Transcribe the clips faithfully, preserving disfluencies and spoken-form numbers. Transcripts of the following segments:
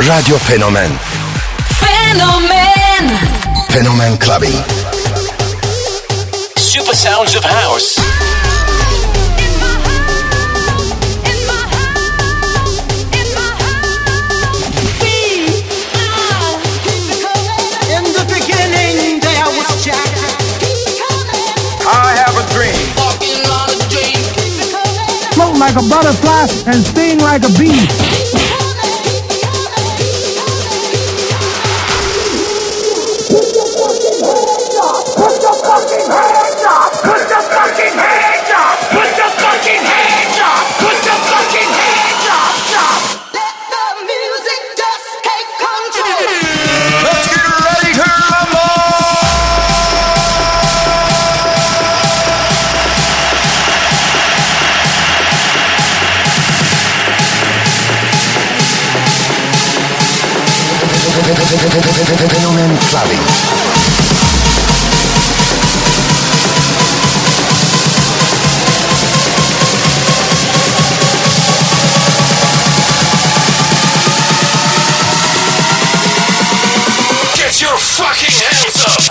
Radyo Fenomen. Fenomen. Fenomen Clubbing. Super sounds of house. In the beginning there was Jack. I have a dream. Walking on a dream. Float like a butterfly and sting like a bee. Fenomen Clubbing. Get your fucking hands up!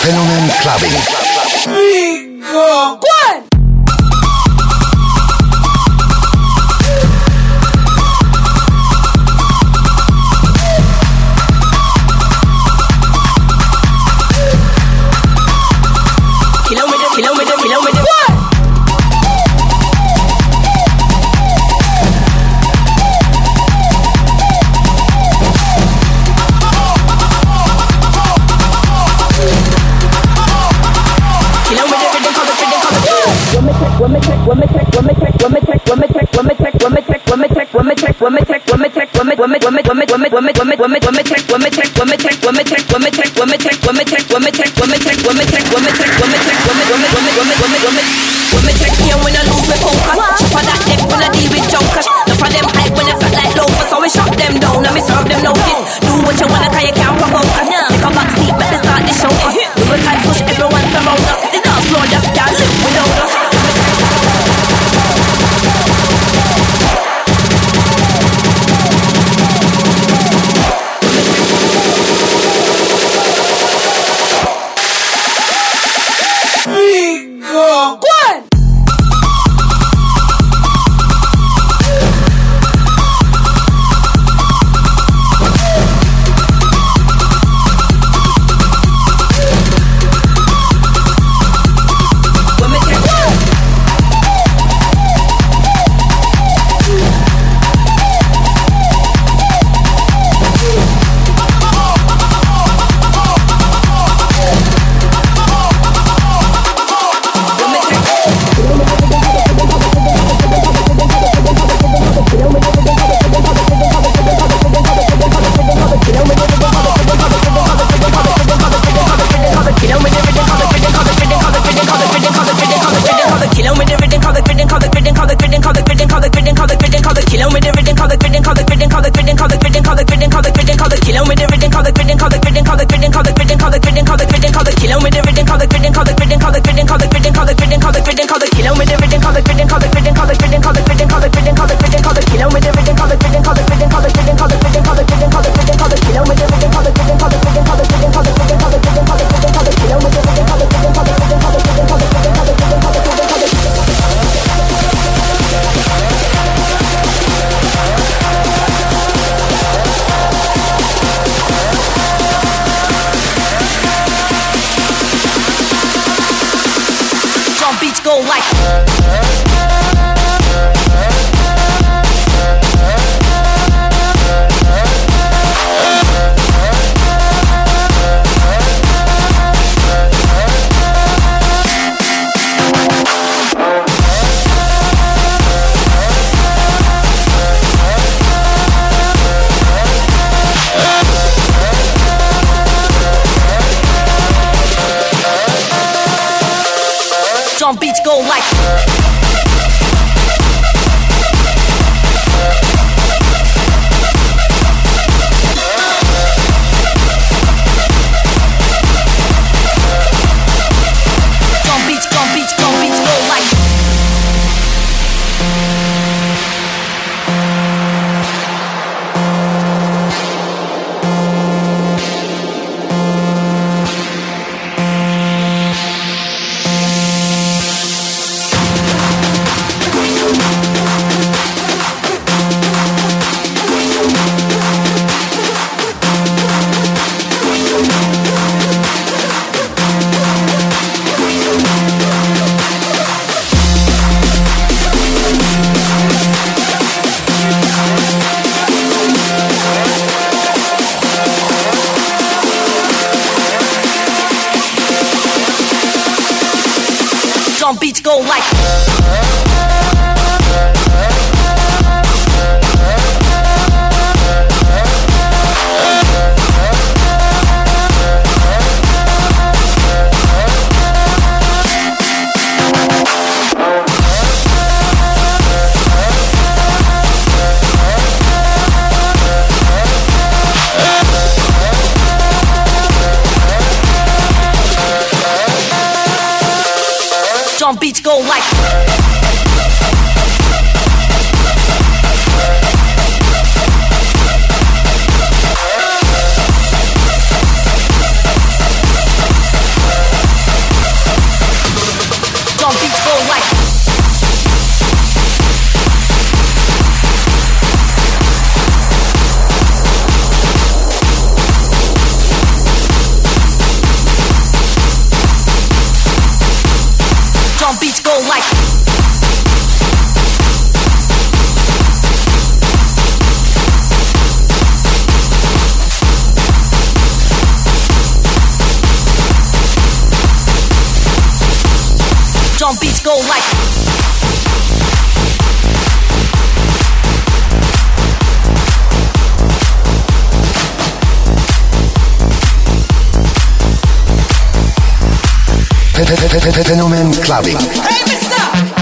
Fenomen Clubbing. Rico. One. Kilometer, kilometer, kilometer. One. Women check, women check, women check, women check, women check, women check, women check, women check, women check, women check, women check, women check, women, women, women, women, women, women, women, women, women check, women check, women check, women check, women check, women check, women check, women check, women check, women check, women check, women check, women, women, women, women, women, women, women check me when I lose my focus. Chop on that neck when I deal with jokers. Enough of them hype when I felt like loafers, so we shut them down and we serve them notice. Do what you wanna, 'cause you can't provoke us. Take a back seat, better start the show us. We will try to push everyone around us. The dance floor just can't live without us. Rico. One. Go like drum beats go like drum beats, drum beats, drum beats go like drum beats go like drum beats go like beats go like. Drum beats go like. Fenomen Clubbing. Hey, mister!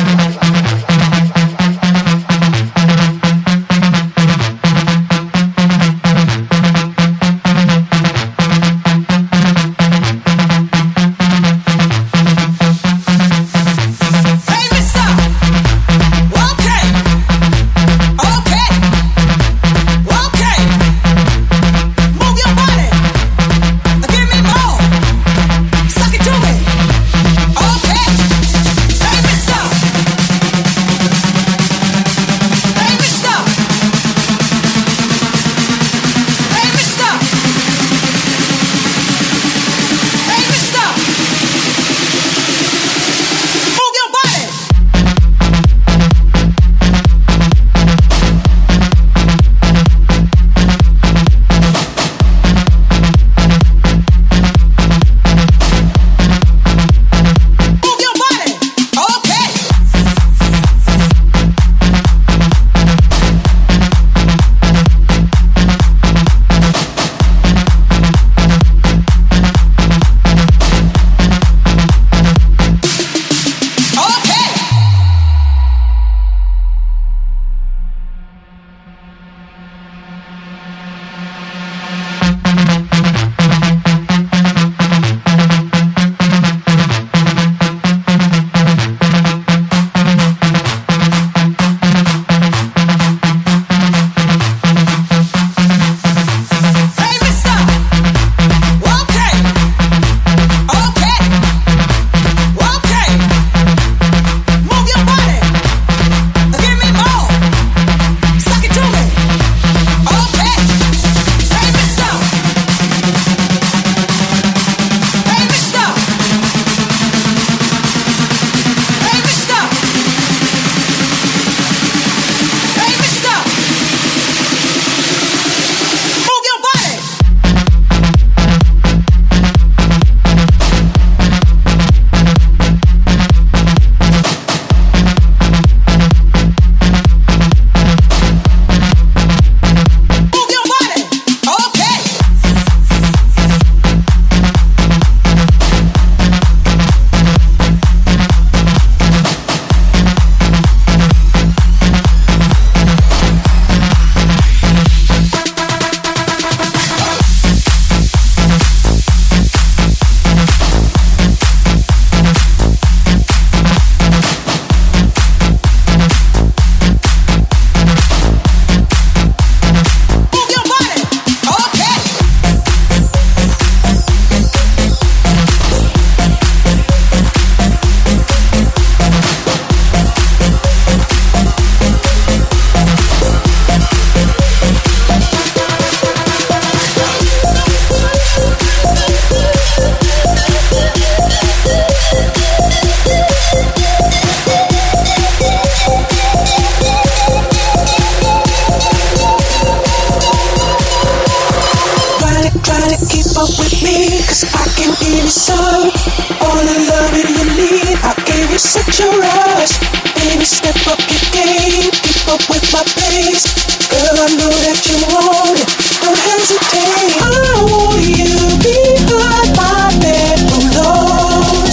such a rush. Baby, step up your game, keep up with my pace. Girl, I know that you want it, don't hesitate. I want you behind my bedroom doors.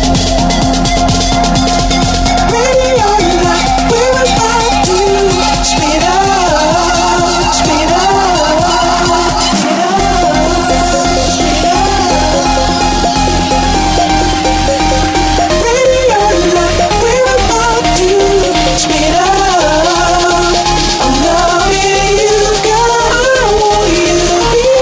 Ready or not, we're about to speed up, speed up, speed up, speed up. Ready or not, we're about to speed up. I'm loving you, girl. I want you to be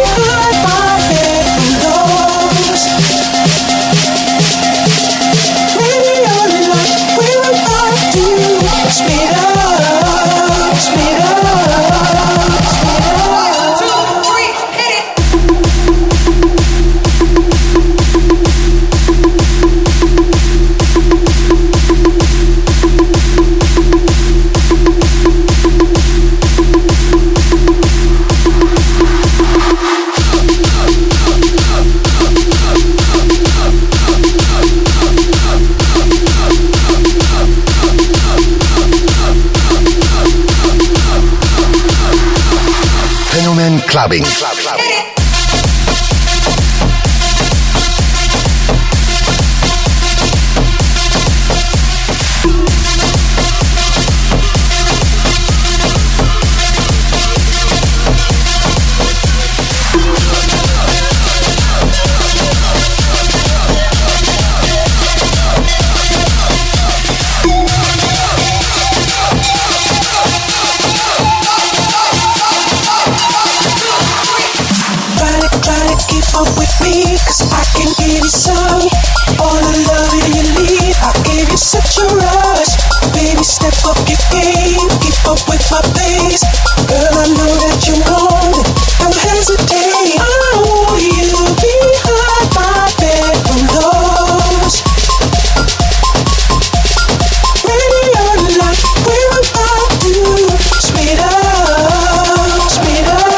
clubbing. Keep up with me, cause I can give you some. All the love that you need, I give you such a rush. Baby, step up your game, keep up with my pace. Girl, I know that you want it, don't hesitate. I want you behind my bedroom doors. Ready or not, we're about to speed up, speed up.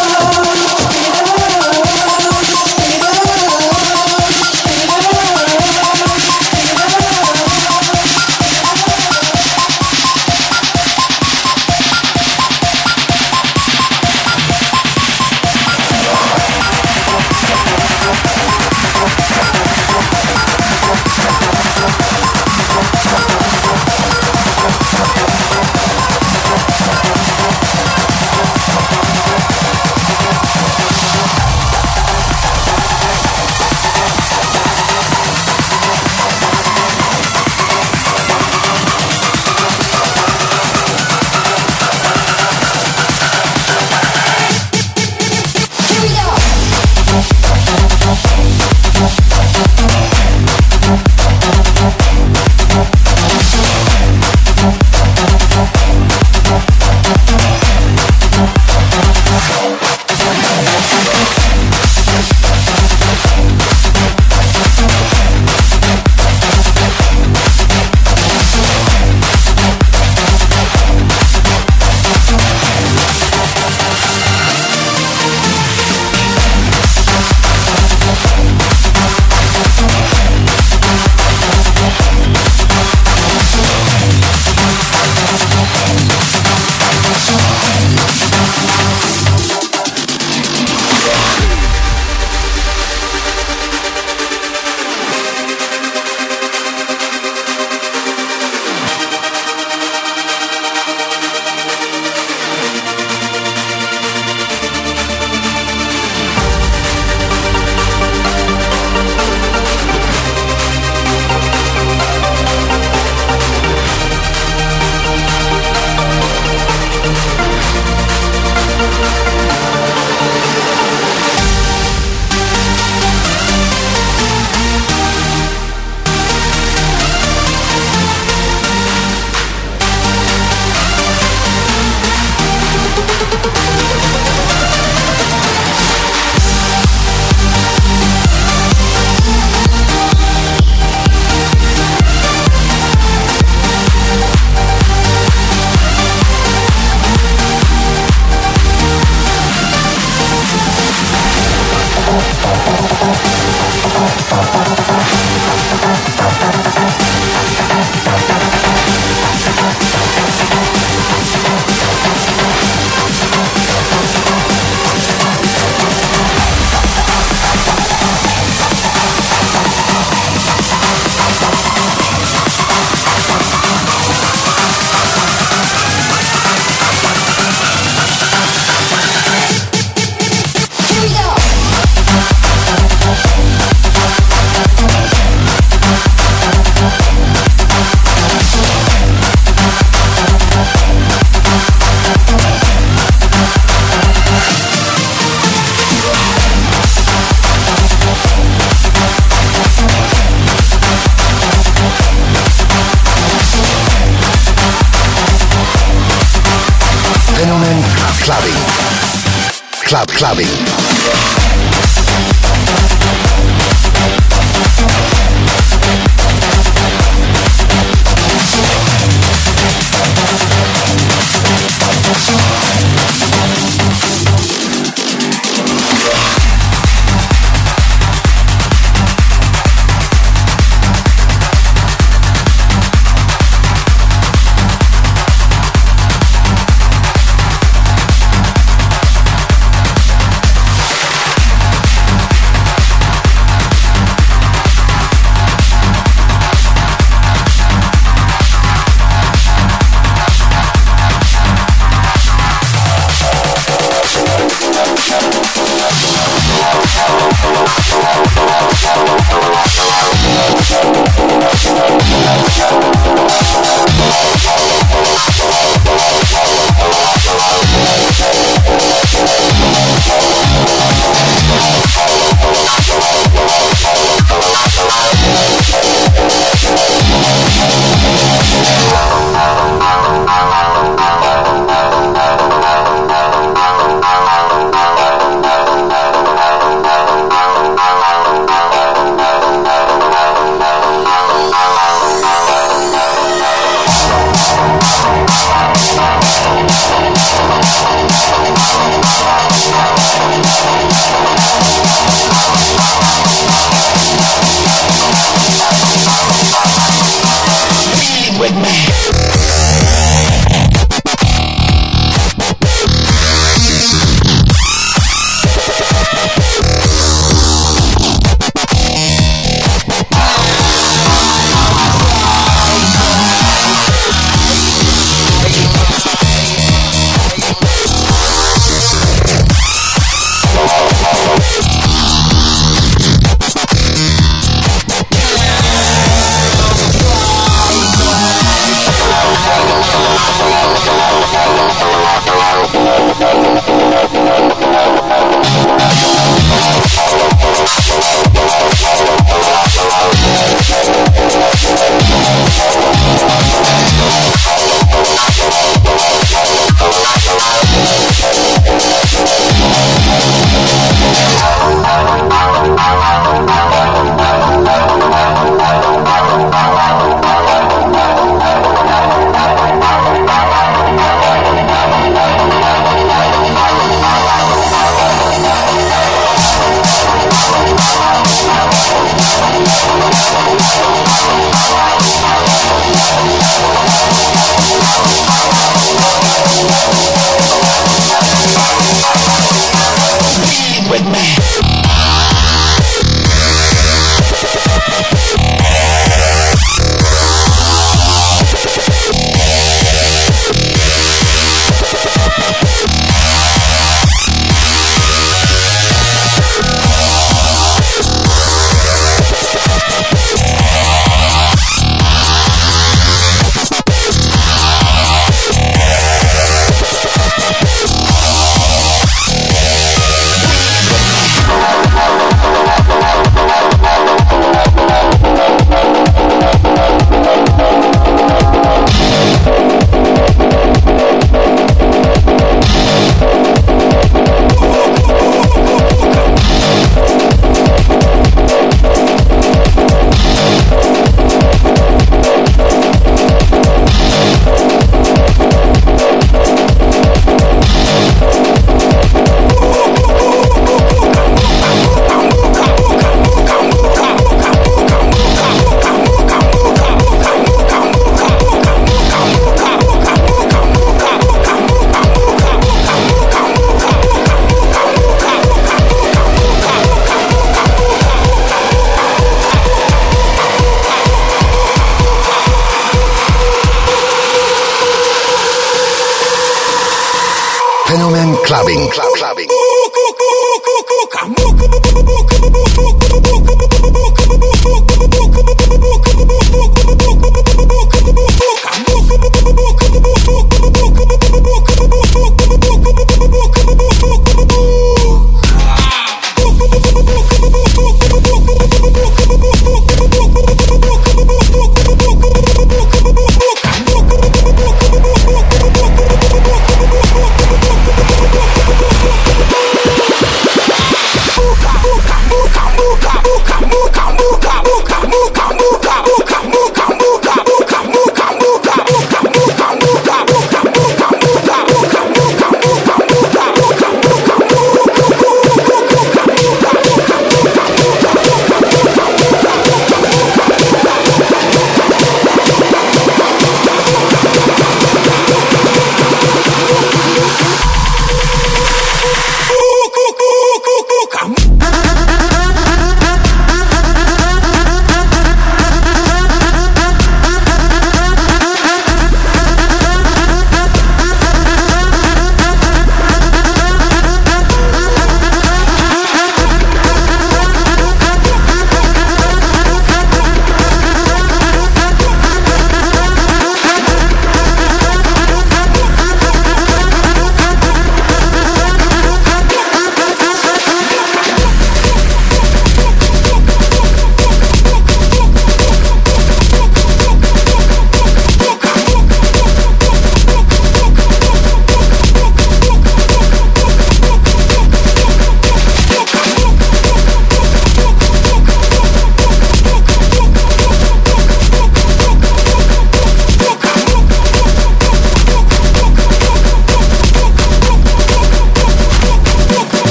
Club clubbing. clubbing, club, clubbing.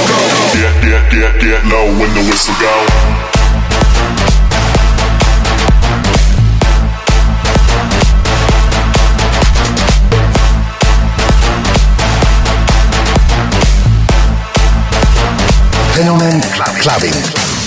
Get, get low when the whistle go. Fenomen Clubbing.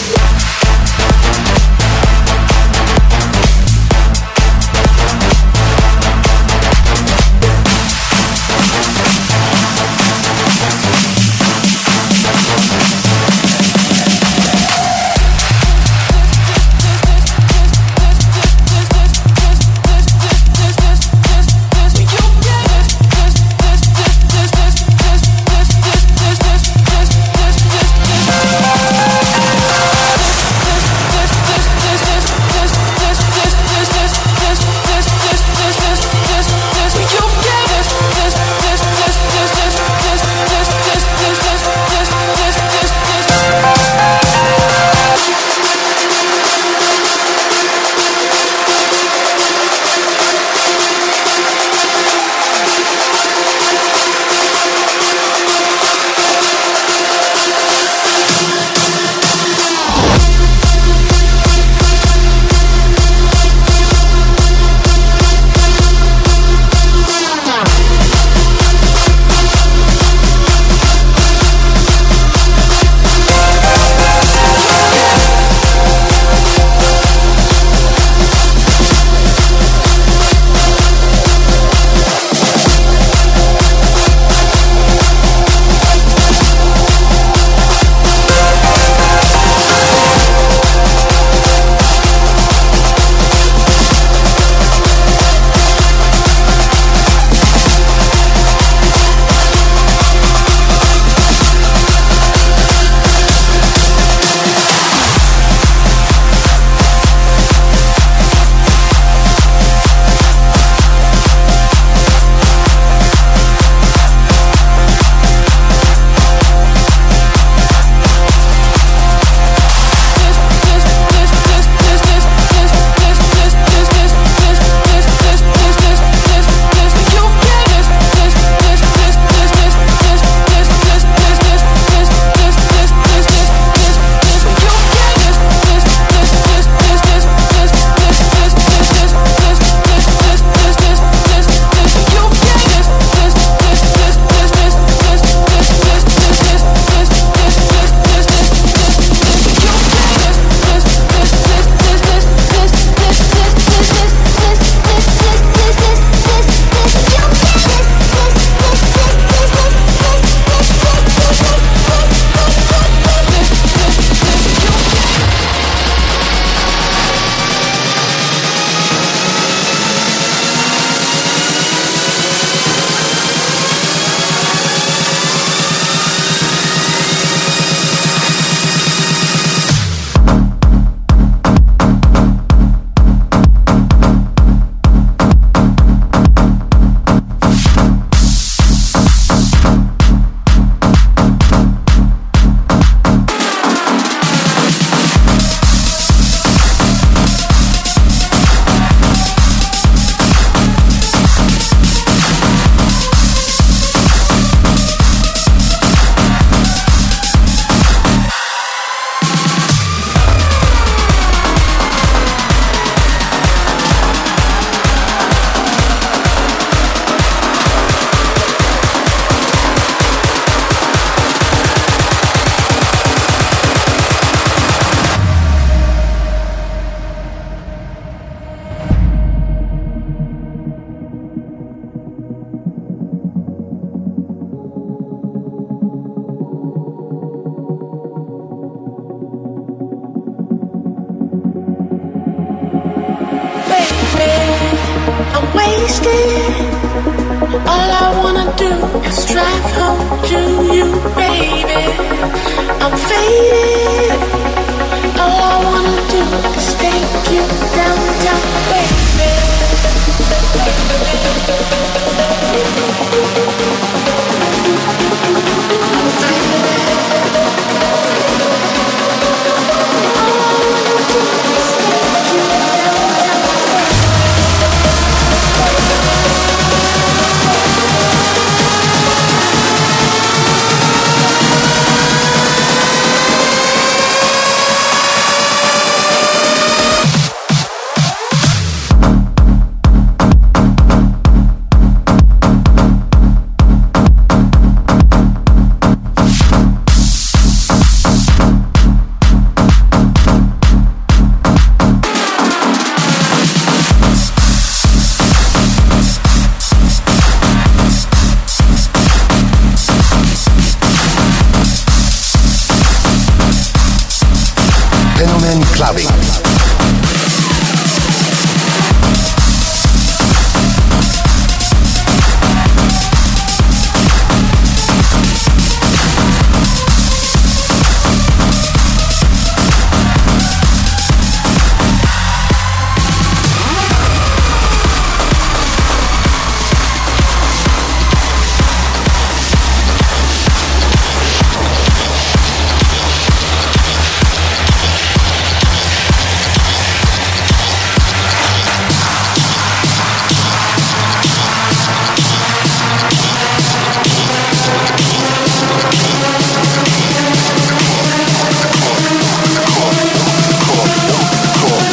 All I wanna do is drive home to you, baby. I'm faded. All I wanna do is take you downtown, baby. I'm faded. All I wanna do is take you downtown, baby.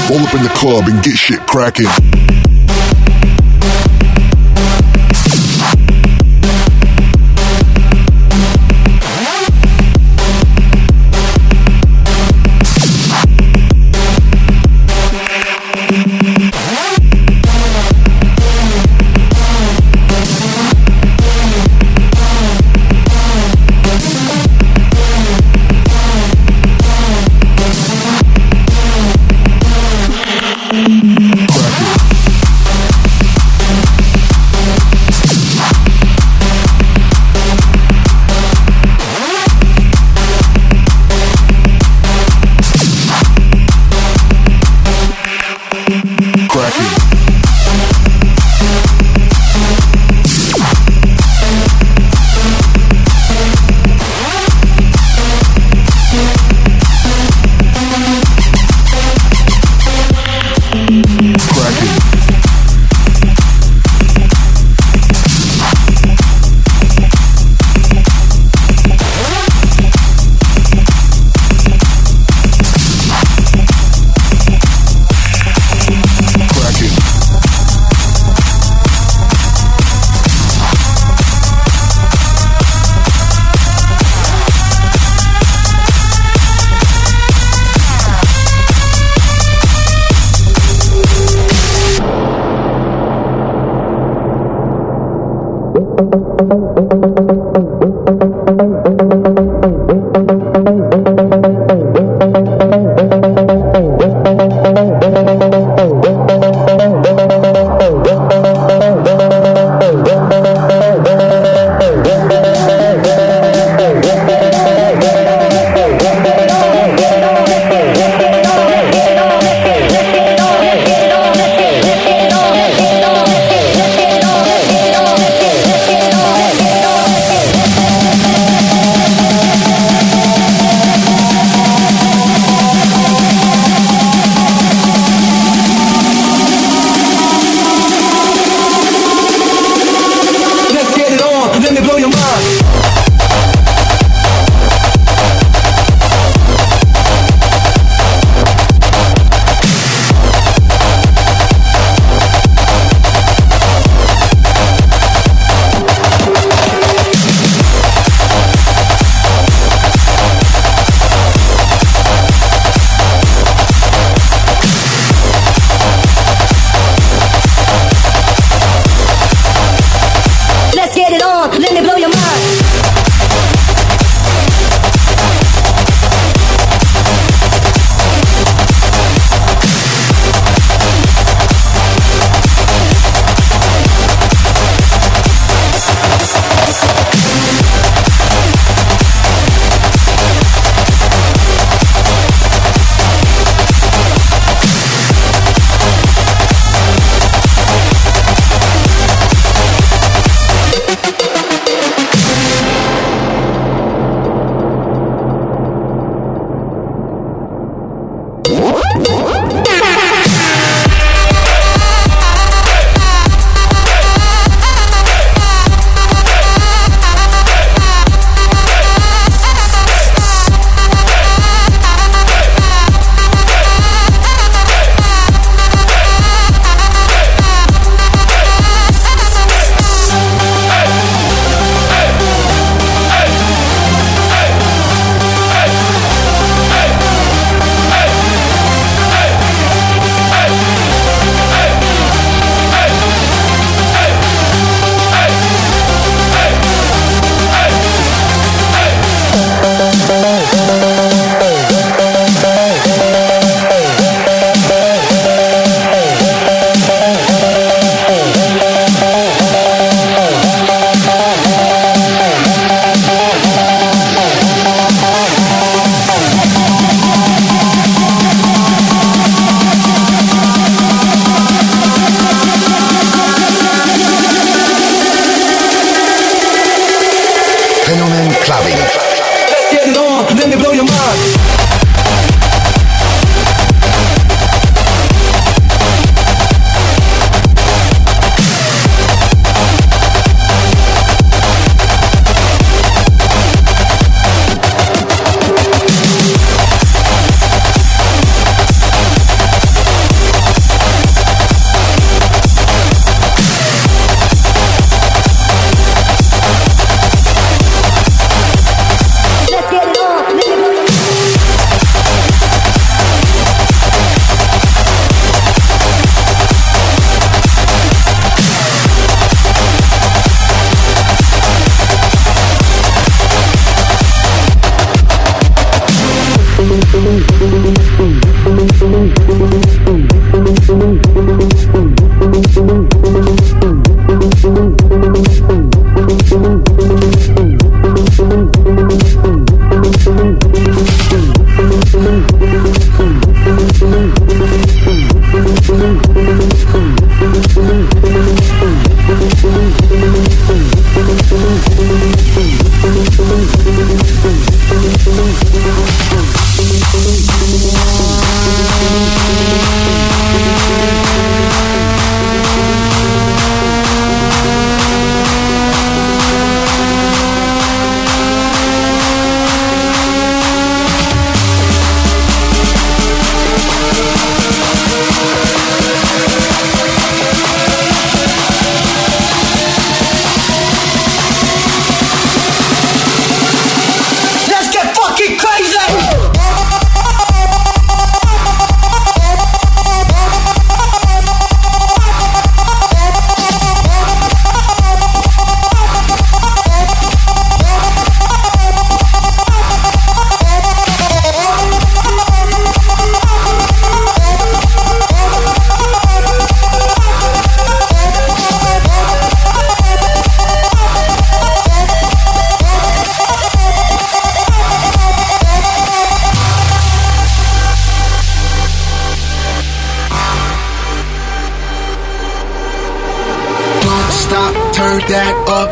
Roll up in the club and get shit cracking.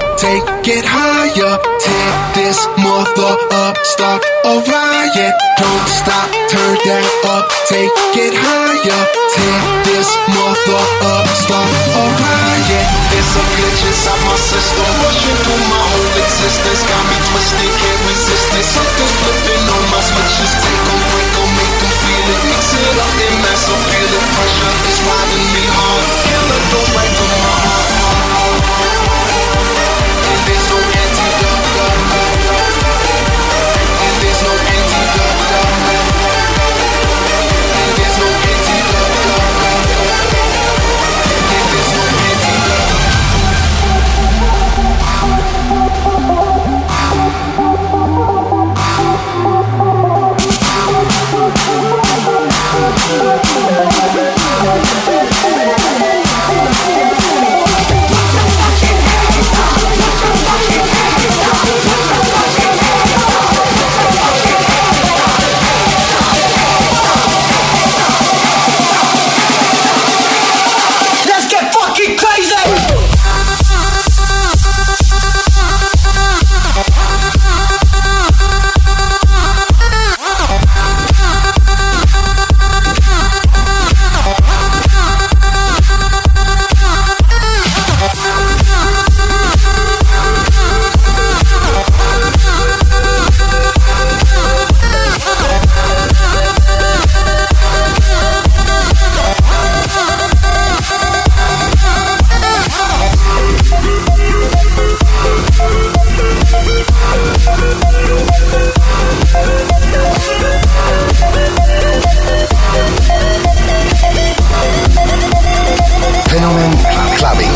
take it higher. Tear this mother up, start a riot. Don't stop, turn that up, take it higher. Tear this mother up, start a riot. There's some glitch inside my system, rushing through my whole existence. Got me twisted, can't resist it. Something's flipping on my switches. Take them, break them, make them feel it. Mix it up in mass appeal. Pressure is riding me hard. Killer goes right to my heart. And there's no antidote. And there's no antidote. And there's no antidote. And there's no antidote. Let's get fucking crazy! Fenomen Clubbing.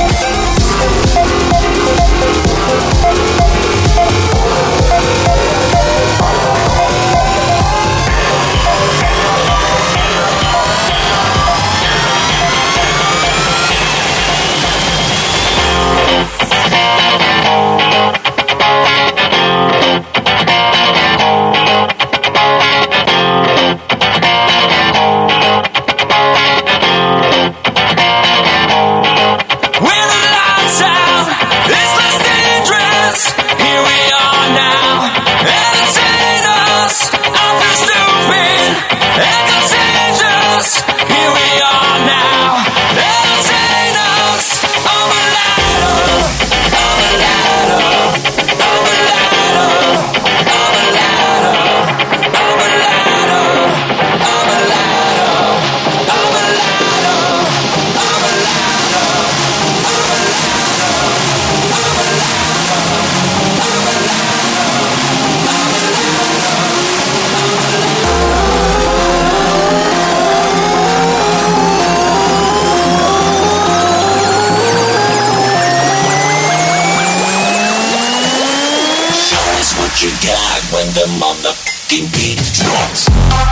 You got when the motherfucking beat drops.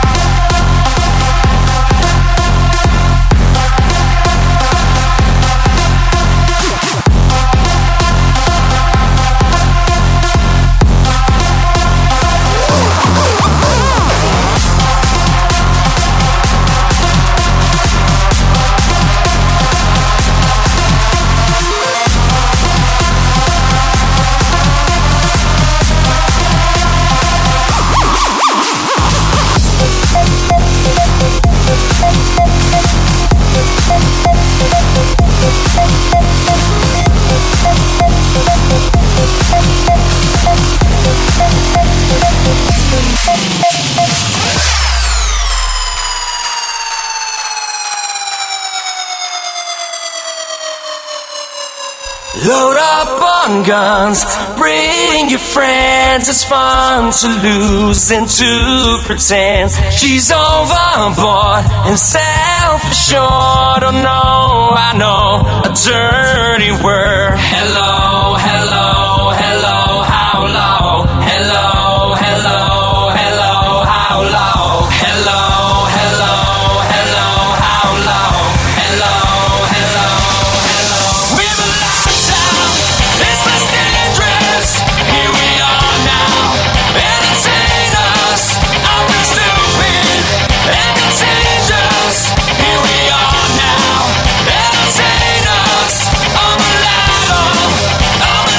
Load up on guns, bring your friends. It's fun to lose and to pretend. She's overboard and self-assured. Oh no, I know a dirty word. Hello, hello, hello, how low? Hello, hello, hello, how low? Hello, hello, hello, how low? Hello, hello, hello. We've been locked down. It's less dangerous. Here we are now. Entertain us. I'll be stupid and contagious. Here we are now. Entertain us. I'm a ladder. I'm a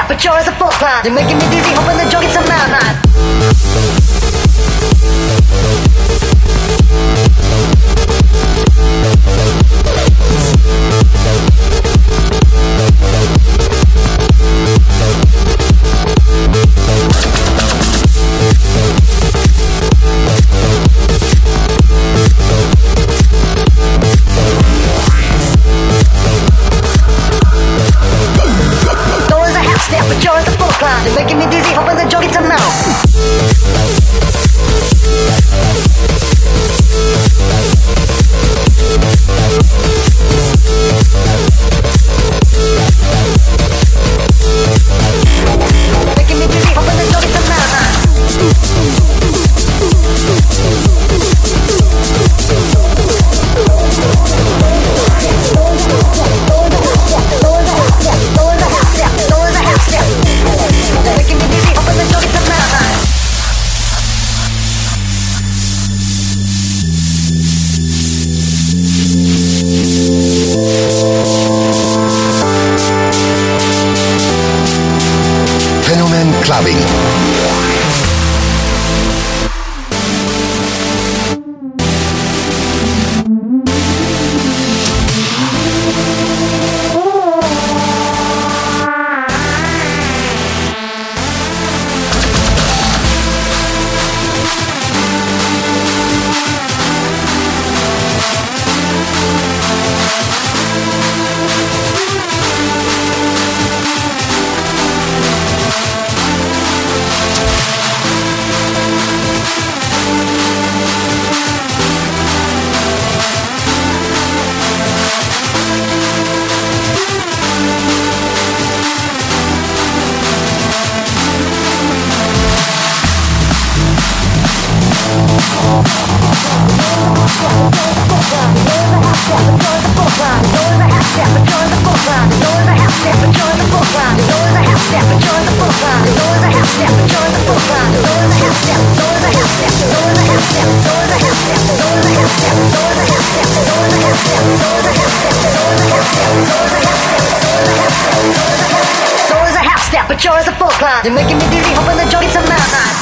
step, but you're as a full climb. You're making me dizzy, hoping the joke gets some mountain. But you're at the full climb. You're making me dizzy, hoping the joke gets some mouth. Making me dizzy, hoping the joke gets some mouth. Fenomen Clubbing. But you're as a full climb. You're making me dizzy, hoping the joke gets some mountain.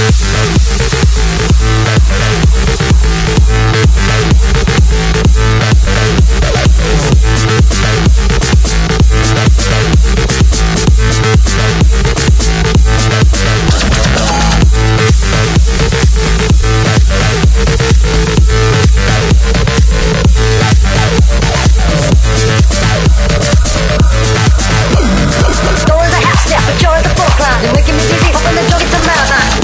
You're making me dizzy, hoping the joke gets some mountain.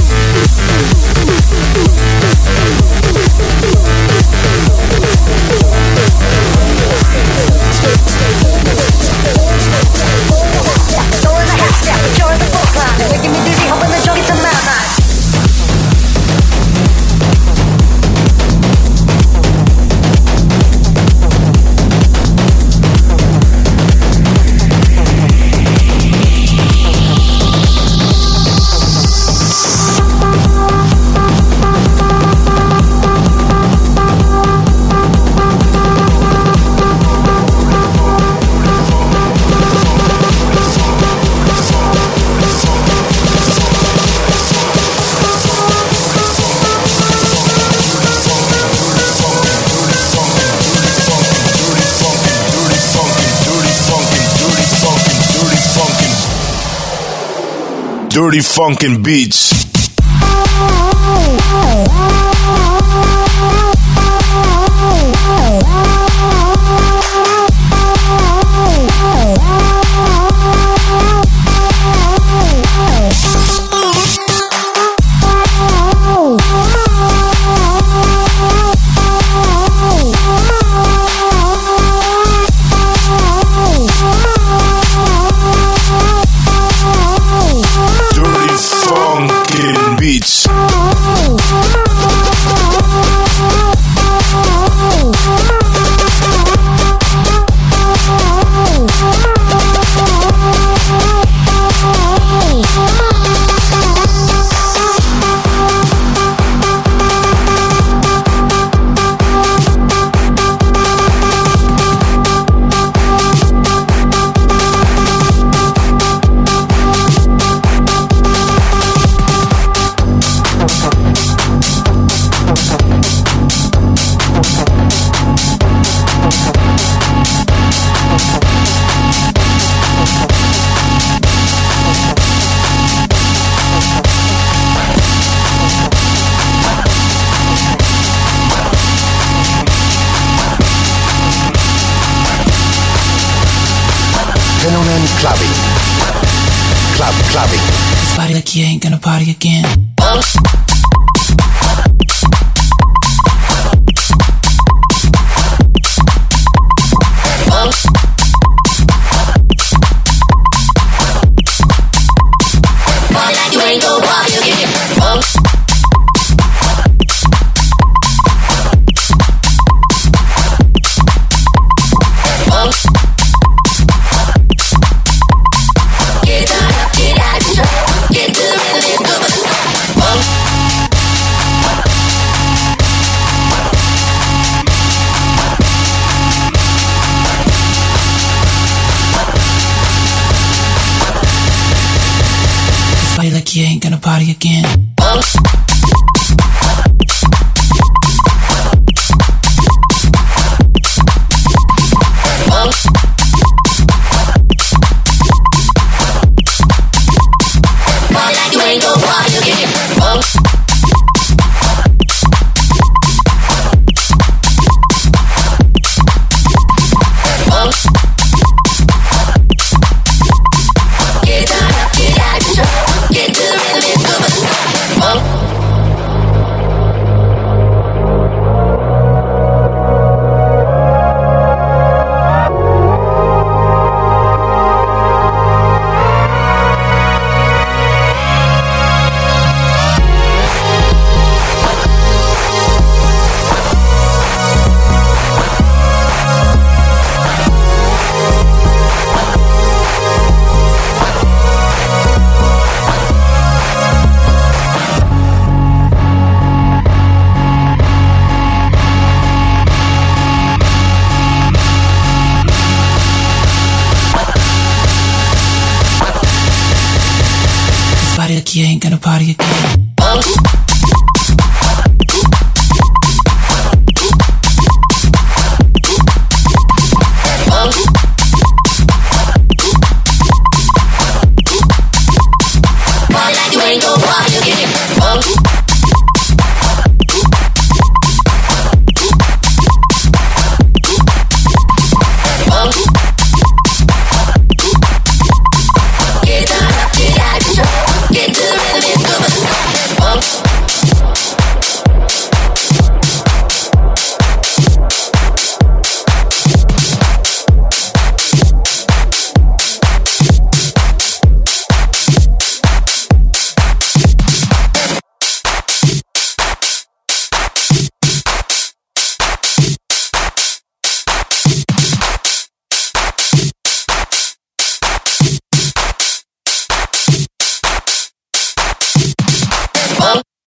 Dirty funkin' beats. Dirty funkin'. clubbing. Club, clubbing. This body like you ain't gonna party again. You ain't gon' party again. Get out, get out, get to the rhythm, go for the Body like you ain't gonna party again. You ain't gon' party again. Get out, get out, get to the rhythm, go for the Like you ain't gonna party again.